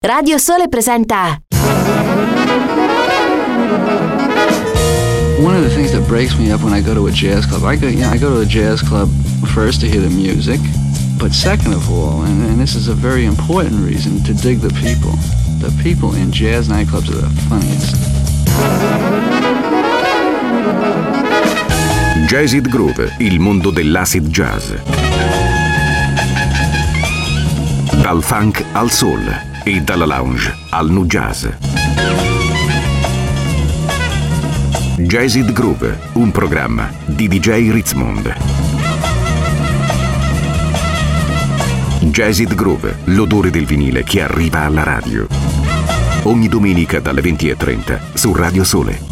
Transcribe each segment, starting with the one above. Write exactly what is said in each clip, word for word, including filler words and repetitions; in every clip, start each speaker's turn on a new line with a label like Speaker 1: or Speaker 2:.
Speaker 1: Radio Sole presenta.
Speaker 2: One of the things that breaks me up when I go to a jazz club, I go, you know, I go to a jazz club first to hear the music, but second of all, and, and this is a very important reason, to dig the people. The people in jazz nightclubs are the funniest.
Speaker 3: Jazzid Groove, il mondo dell'acid jazz. Dal funk al soul e dalla lounge al nu jazz. Jazzid Groove, un programma di D J Ritzmond. Jazzid Groove, l'odore del vinile che arriva alla radio. Ogni domenica dalle venti e trenta su Radio Sole.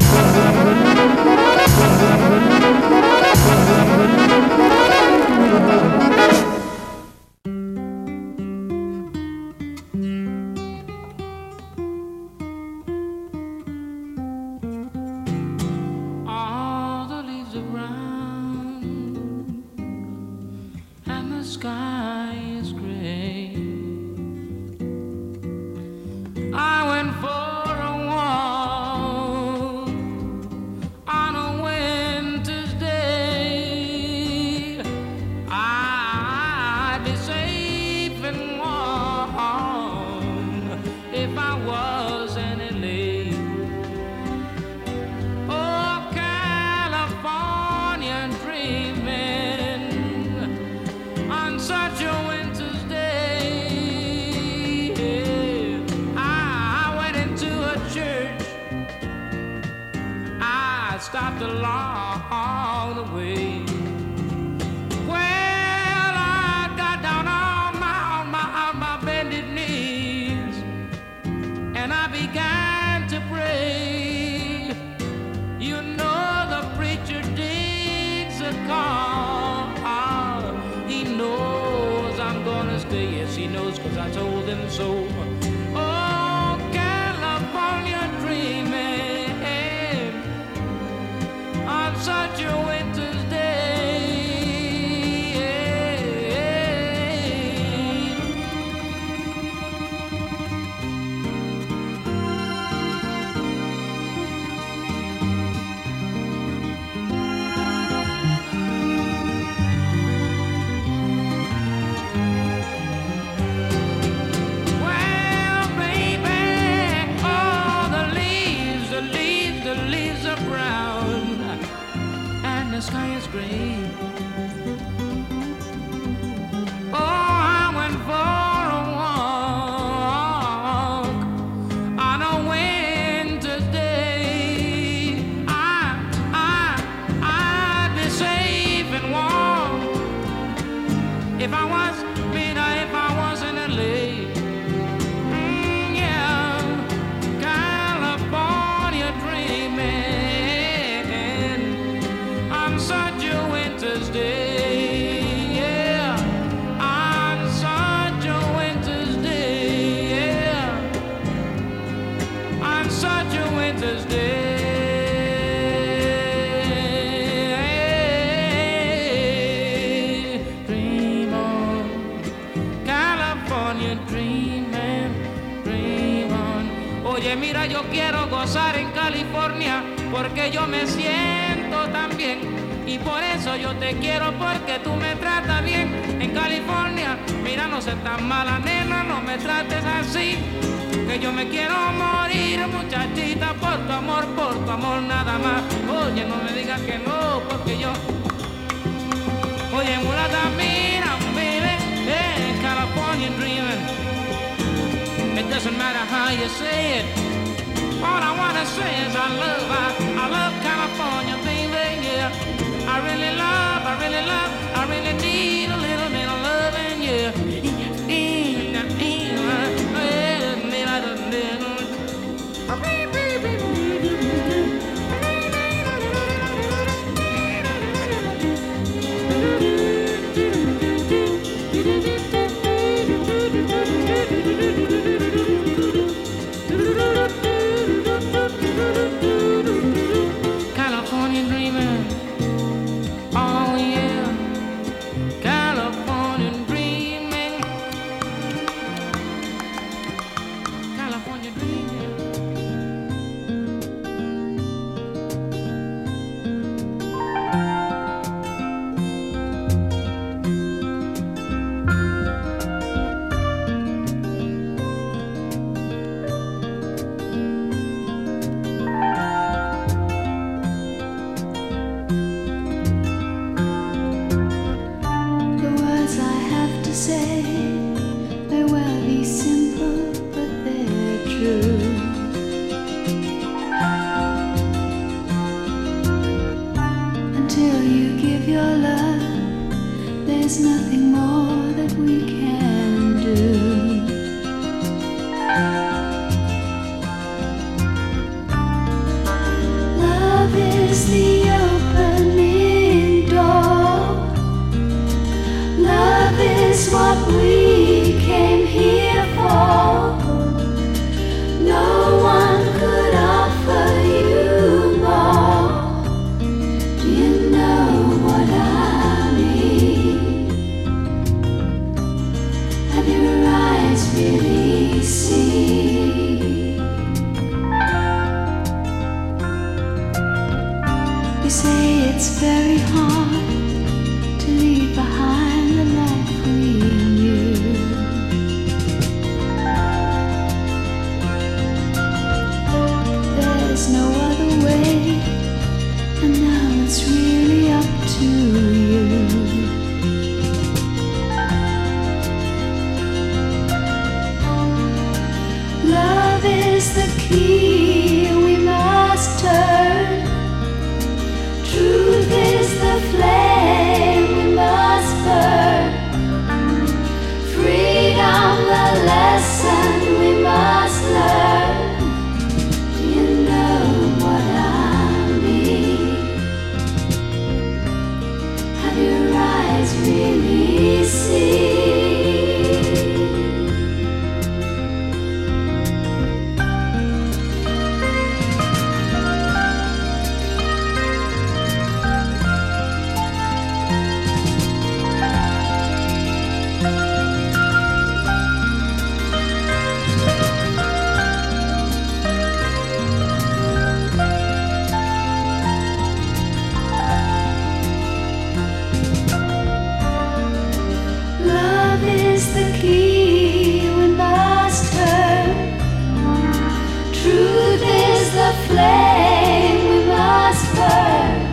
Speaker 4: Stopped along the way. Well, I got down on my, on my, on my bended knees, and I began to pray. You know the preacher digs a call. He knows I'm gonna stay. Yes, he knows, 'cause I told him so. Oh, California dreaming on such a winter's day. Well, baby, oh, the leaves, the leaves, the leaves are brown, the sky is gray. Oh, I went for a walk on a winter's day. I, I, I'd be safe and warm if I was, you know, if I was in L A. Mm, yeah, California dreaming on such a winter's day, yeah, on such a winter's day, yeah, on such a winter's day. Dream on, California dreaming, dream on. Oye, mira, yo quiero gozar en California porque yo me siento tan bien. Y por eso yo te quiero, porque tú me tratas bien. En California, mira, no seas tan mala, nena, no me trates así, que yo me quiero morir, muchachita, por tu amor, por tu amor nada más. Oye, no me digas que no, porque yo... Oye, mulata, mira, baby, hey, California dreaming. It doesn't matter how you say it. All I wanna say is I love, I, I love California, baby, yeah. I really love, I really love, I really need a little bit of loving, yeah. California dreaming, oh yeah. California dreaming.
Speaker 1: see. You say it's very hard to leave behind the life we knew. There's no other way, and now it's really up to you. Love is the key we must turn. Truth is the flame we must burn. Freedom the lesson we must learn. Do you know what I mean? Have your eyes really seen? Flame we must burn.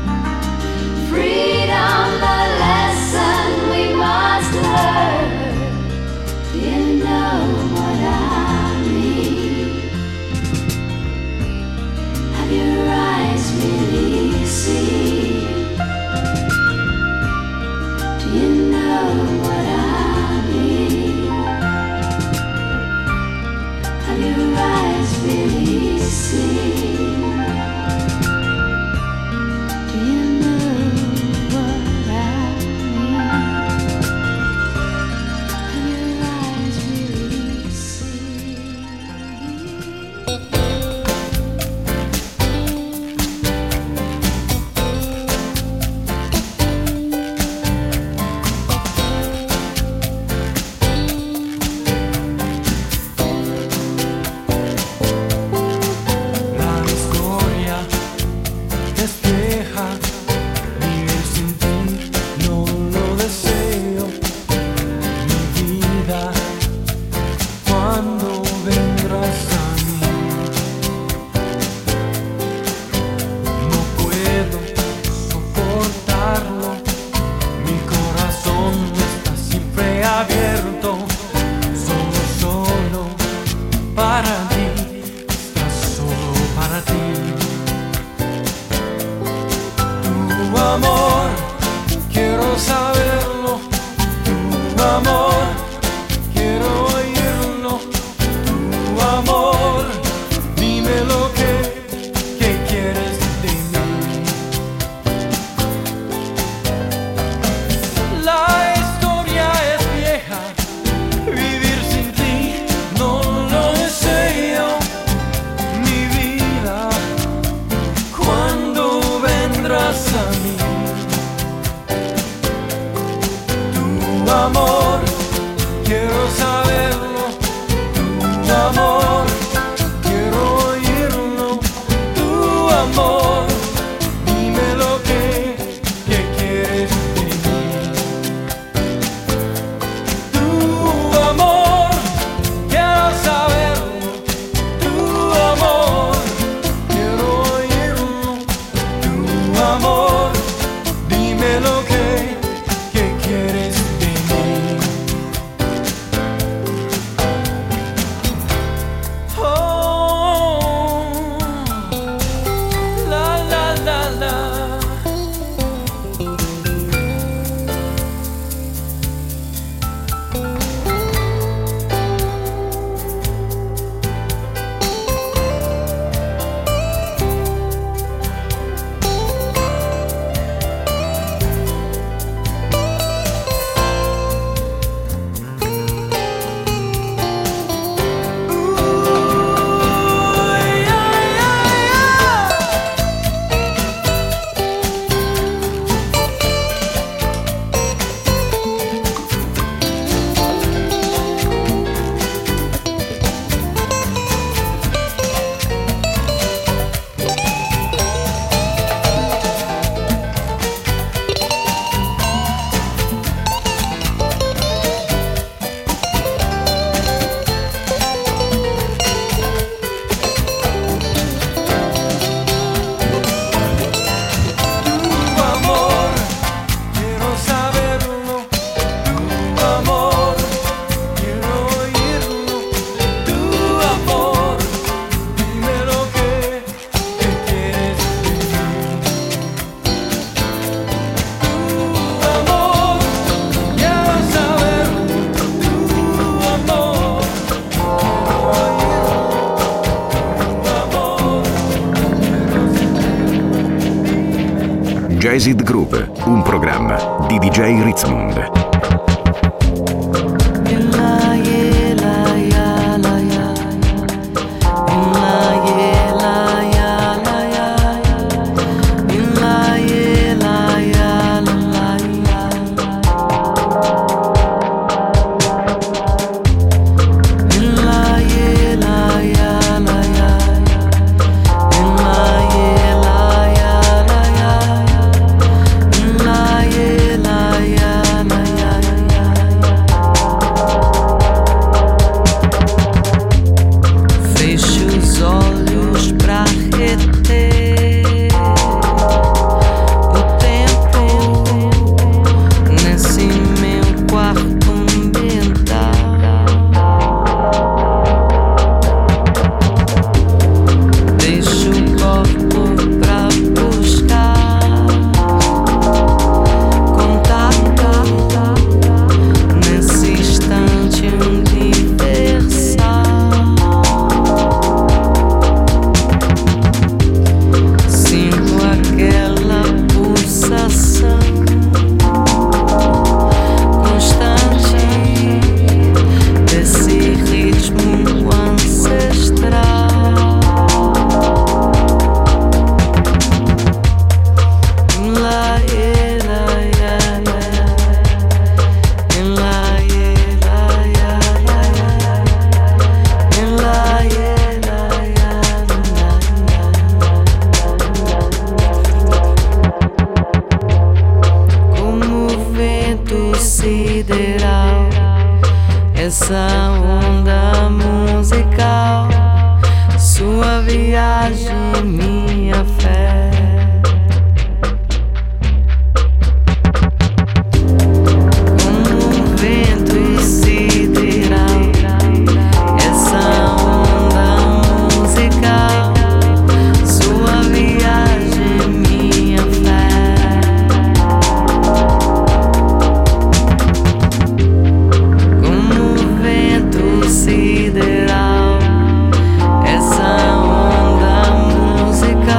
Speaker 1: Freedom the lesson we must learn. Do you know what I mean? Have your eyes really seen? Do you know what I mean? Have your eyes really seen?
Speaker 5: Say
Speaker 3: Jazzed Groove, un programma di D J Ritzmond.
Speaker 5: Essa onda musical, sua viagem, minha fé. Sideral, essa onda musical.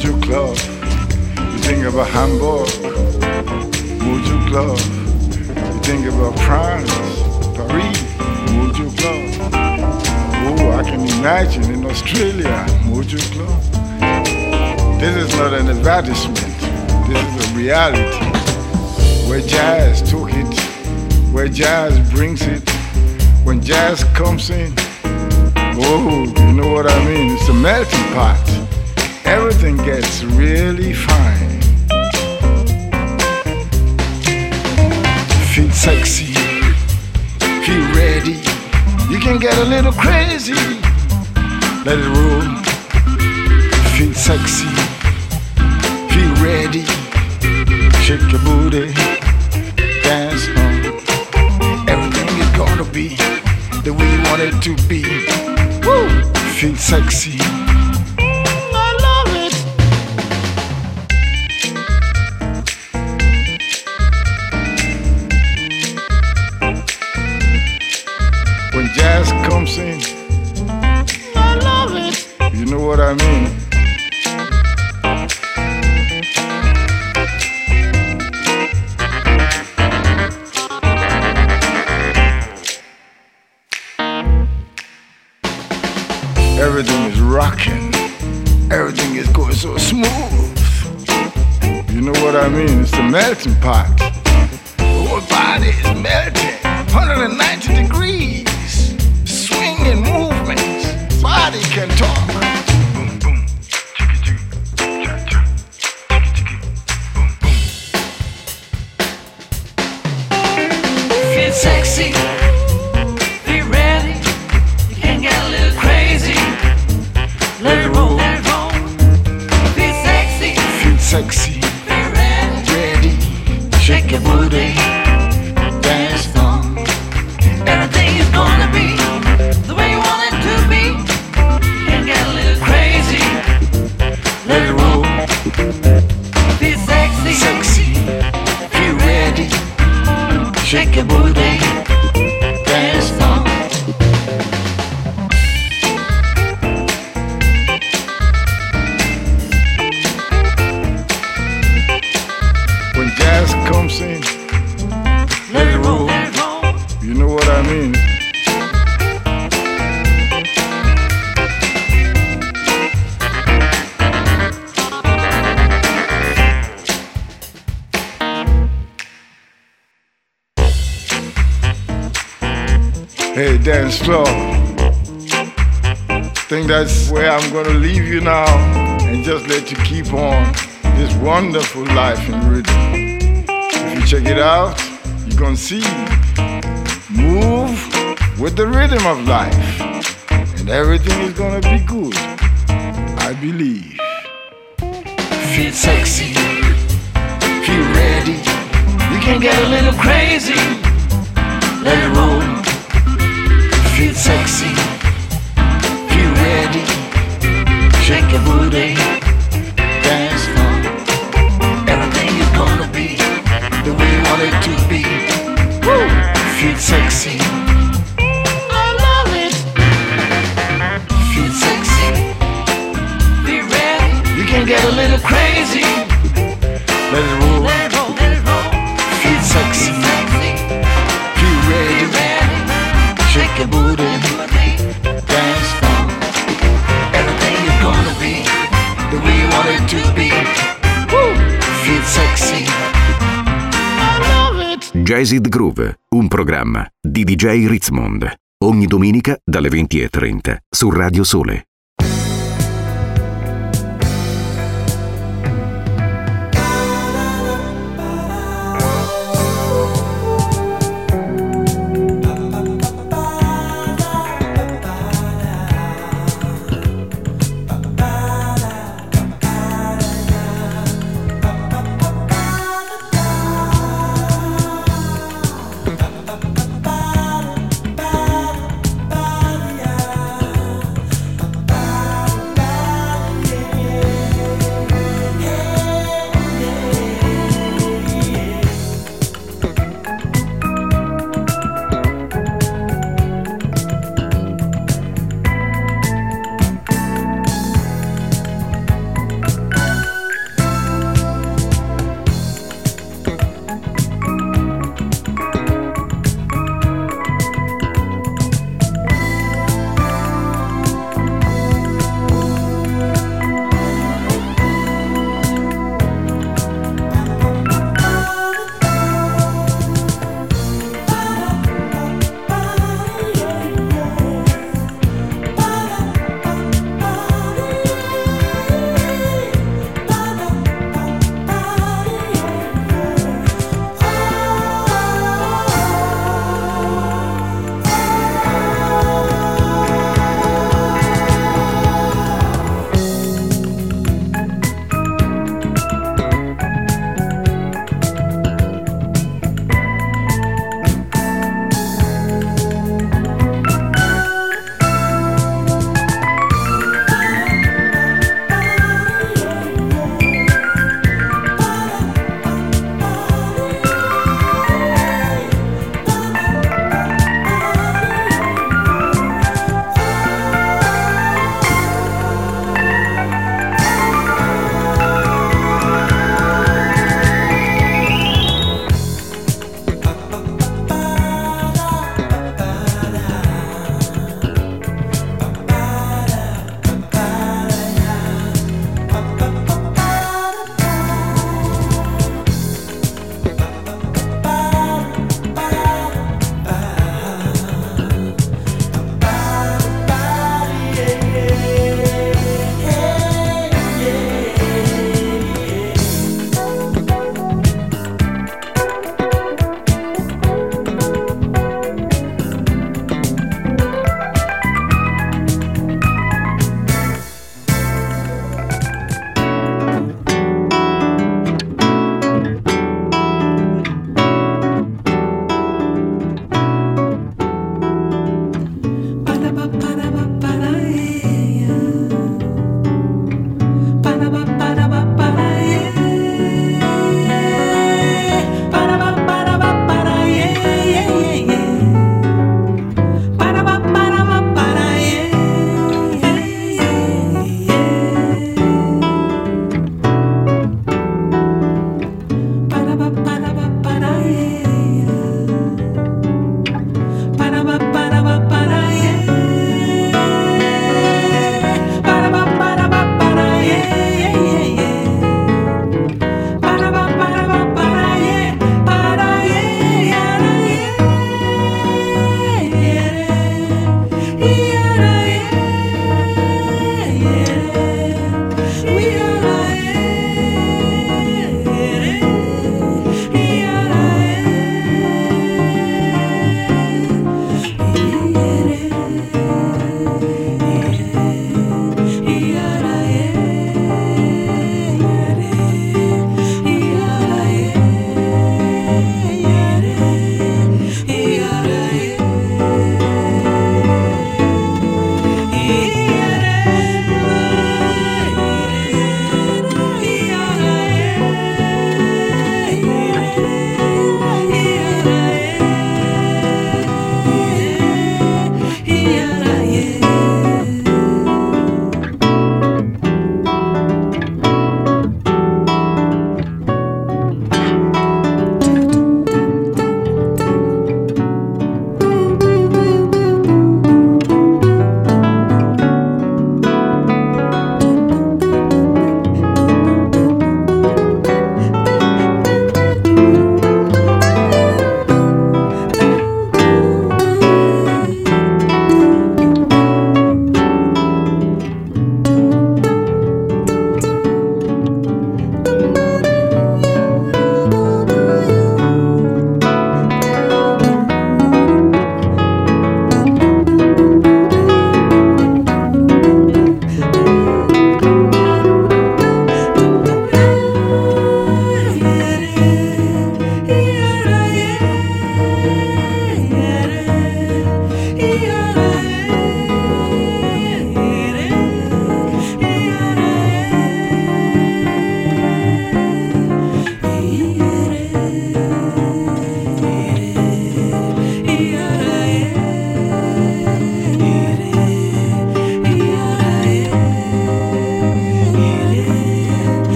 Speaker 6: Mojo Club. You think about Hamburg, Mojo Club. You think about France, Paris, Mojo Club. Oh, I can imagine in Australia, Mojo Club. This is not an advertisement. This is a reality. Where jazz took it, where jazz brings it. When jazz comes in, oh, you know what I mean? It's a melting pot. Everything gets really fine. Feel sexy, feel ready. You can get a little crazy. Let it roll. Feel sexy, feel ready. Shake your booty, dance on. Everything is gonna be the way you want it to be. Woo! Feel sexy. I love it. When jazz comes in, I love it. You know what I mean? Everything is rocking. Everything is going so smooth. You know what I mean? It's the melting pot. The whole body is melting. one hundred ninety degrees. Swinging movements. Body can talk. Boom, boom. Chicka-chicka. Cha-cha. Chicka-chicka. Boom, boom.
Speaker 5: Feel sexy. Be ready. You can get a little crazy. Let it roll, let it roll. Feel sexy,
Speaker 6: feel sexy.
Speaker 5: Be ready,
Speaker 6: ready.
Speaker 5: Shake your booty,
Speaker 6: dance on.
Speaker 5: Everything is gonna be the way you want it to be. You can get a little crazy. Let it roll. Feel sexy,
Speaker 6: sexy. Feel ready.
Speaker 5: Shake your booty, dance on.
Speaker 6: Jazz comes in,
Speaker 5: let it roll, let it roll.
Speaker 6: You know what I mean? Hey, dance floor. Think that's where I'm gonna leave you now and just let you keep on this wonderful life in rhythm. If you check it out, you're gonna see. Move with the rhythm of life, and everything is gonna be good. I believe. Feel sexy, feel ready. You can get a little crazy. Let it roll. Feel sexy, feel ready. Shake your booty, dance on. Everything is gonna be the way you want it to be. Woo! Feel sexy. I love it. Feel sexy.
Speaker 5: Be ready.
Speaker 6: You can get a little crazy. Let it roll.
Speaker 5: Let it roll, let it roll.
Speaker 6: Feel sexy.
Speaker 5: Feel sexy.
Speaker 6: Feel ready.
Speaker 5: Be ready.
Speaker 6: Shake your booty. Dance on. Everything is gonna be the way you want it to be. Woo! Feel sexy. I love it.
Speaker 3: Jazzed Groove, un programma di D J Ritzmond. Ogni domenica dalle venti e trenta su Radio Sole.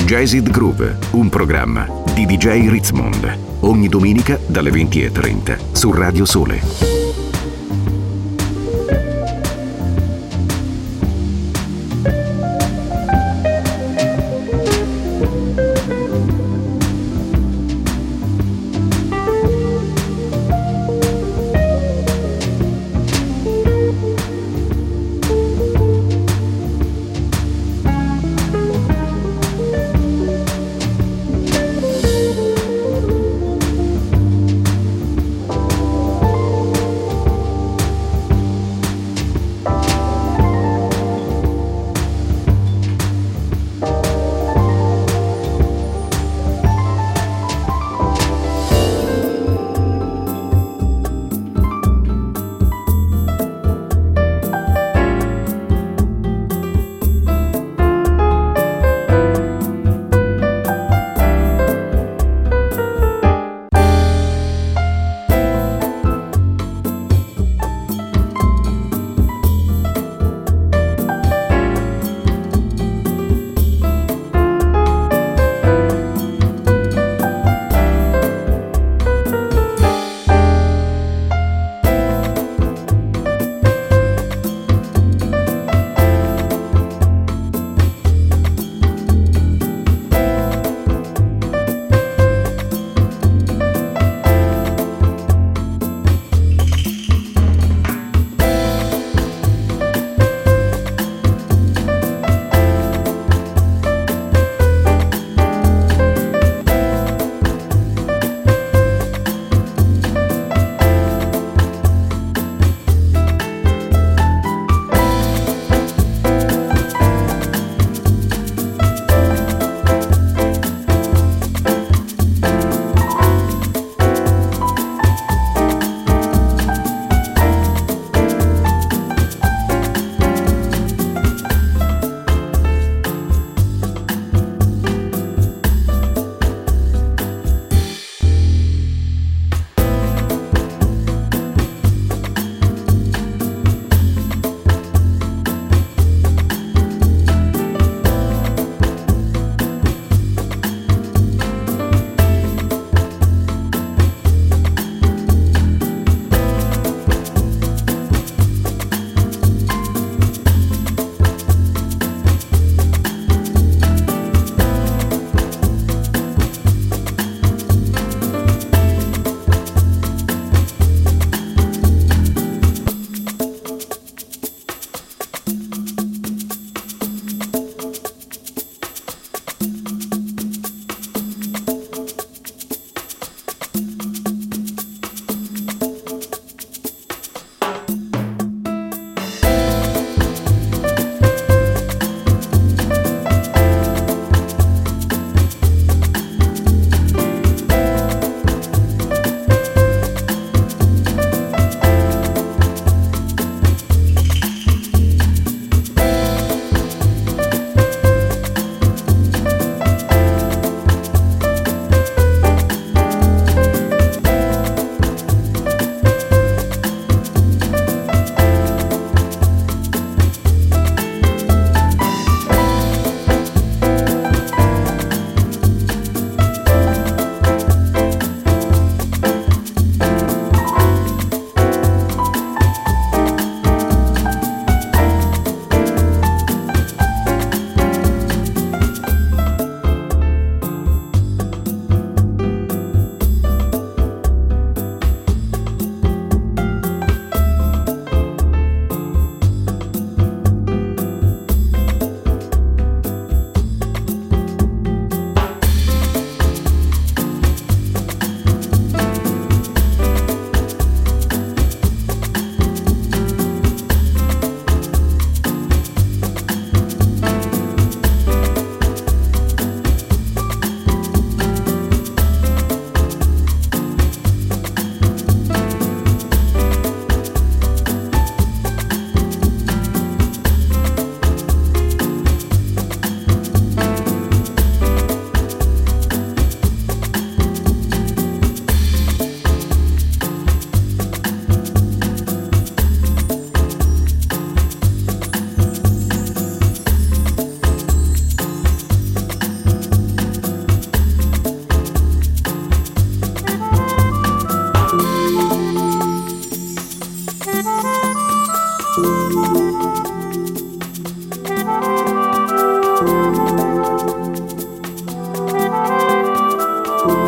Speaker 3: Jazzed Groove, un programma di D J Ritzmond. Ogni domenica dalle venti e trenta su Radio Sole.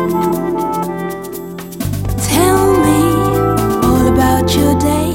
Speaker 1: Tell me all about your day.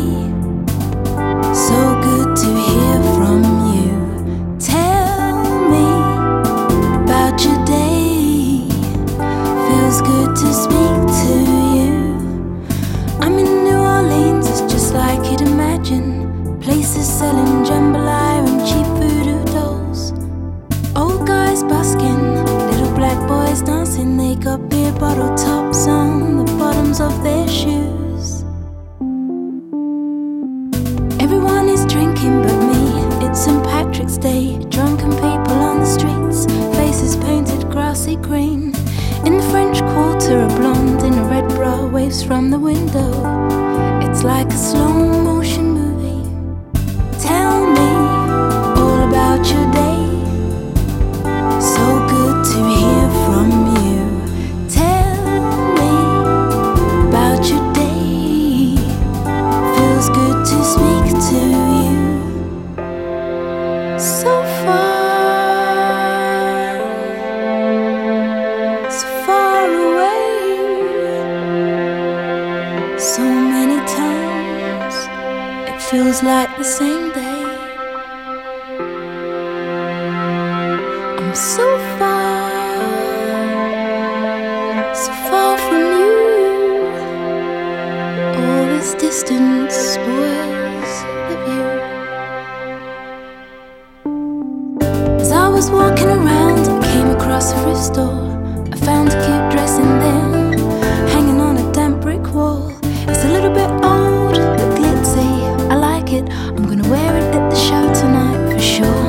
Speaker 1: So good to hear from you. Tell me about your day. Feels good to speak to you. I'm in New Orleans, it's just like you'd imagine. Places selling jambalaya and cheap voodoo dolls. Old guys busking, little black boys dancing. They got beer bottle tops on the bottoms of their shoes. Everyone is drinking but me. It's Saint Patrick's Day. Drunken people on the streets, faces painted grassy green. In the French Quarter, a blonde in a red bra waves from the window. It's like a slow motion movie. Tell me all about your day. So good to hear from you. Tell me about your day. Feels good to speak to you. So far, so far away. So many times it feels like the same day. I'm so far, so far from you. All this distance spoils the view. As I was walking around, I came across a thrift store. I found a cute dress in there, hanging on a damp brick wall. It's a little bit old, but glitzy. I like it. I'm gonna wear it at the show tonight for sure.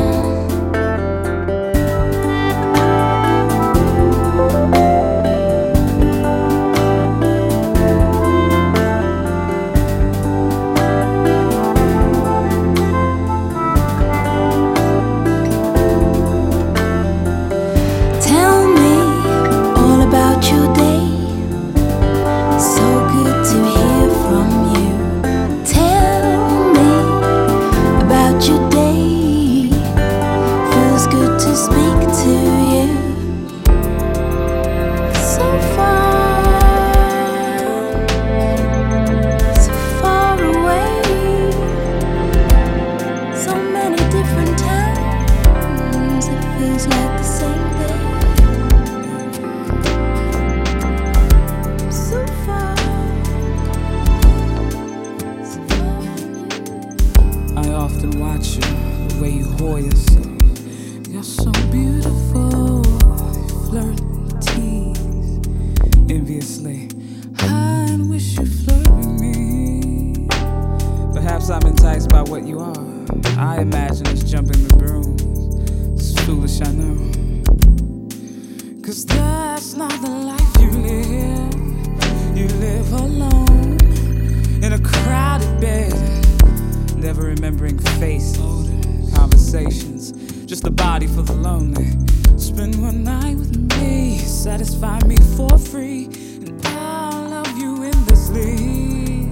Speaker 1: Tell me all about your day. So good to hear from you. Tell me about your day. Feels good to speak to you. So far, so far away. So many different times. It feels like the same day. So far, so far from you.
Speaker 4: I often watch you, the way you hold yourself. You're so beautiful, flirt and tease enviously. I wish you flirt with me. Perhaps I'm enticed by what you are. I imagine us jumping the brooms. It's foolish, I know. Cause that's not the life you live. You live alone in a crowded bed, never remembering face, conversations, just a body for the lonely. Spend one night with me, satisfy me for free, and I'll love you endlessly.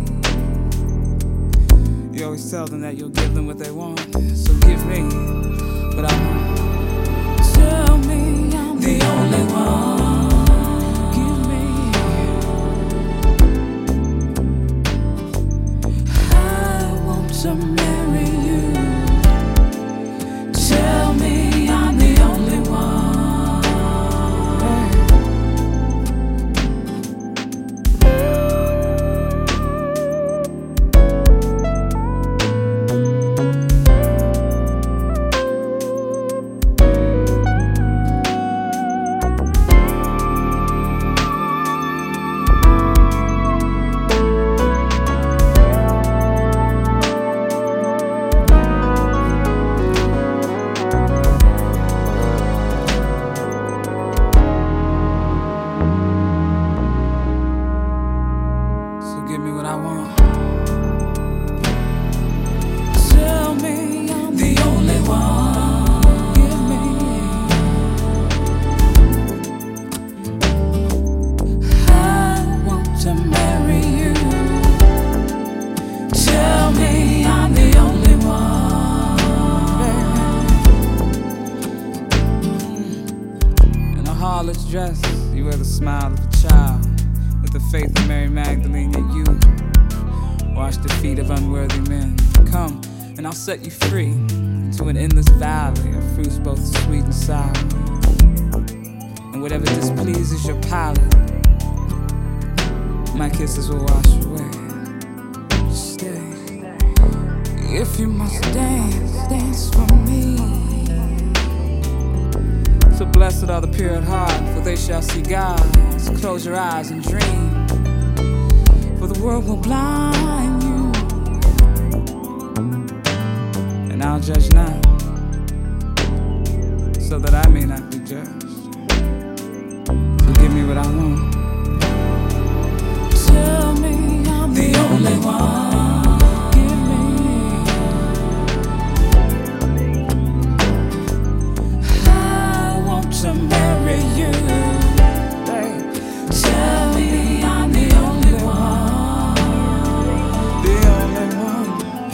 Speaker 4: You always tell them that you'll give them what they want, so give me what I want. Tell me I'm the only one. Give me. I want to marry you. Tell me I'm the only one. dress, you wear the smile of a
Speaker 7: child with the faith of Mary Magdalene, yet you wash the feet of unworthy men. Come, and I'll set you free into an endless valley of fruits both sweet and sour. And whatever displeases your palate, my kisses will wash away. Stay. If you must dance, dance for me. So blessed are the pure at heart, for they shall see God. So close your eyes and dream, for the world will blind you. And I'll judge now, so that I may not be judged. So give me what I want. Tell me I'm the only one. To marry you, babe. Tell me I'm the only one, the only one.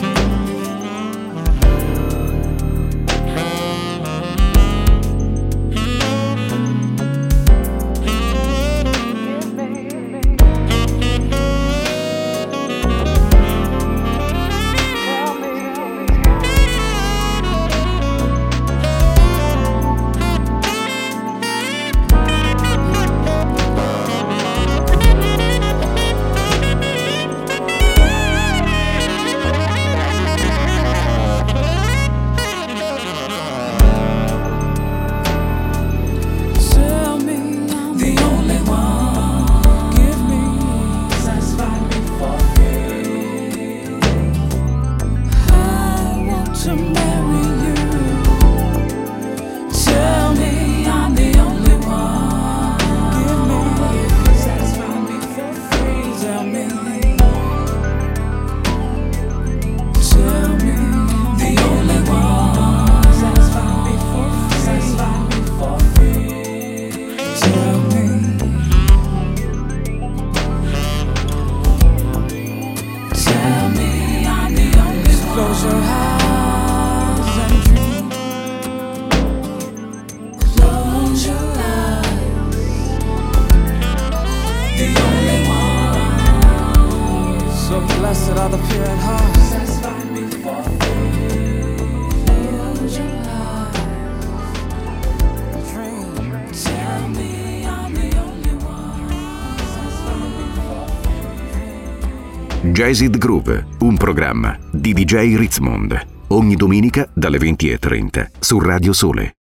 Speaker 7: Close your eyes and dream. Close your eyes. The only one. So blessed are the pure at heart. Satisfy me for free. Close your eyes. Dream. Tell me I'm the only one. Satisfy me for free.
Speaker 3: Jazzed Groove, un programma di D J Ritzmond, ogni domenica dalle venti e trenta su Radio Sole.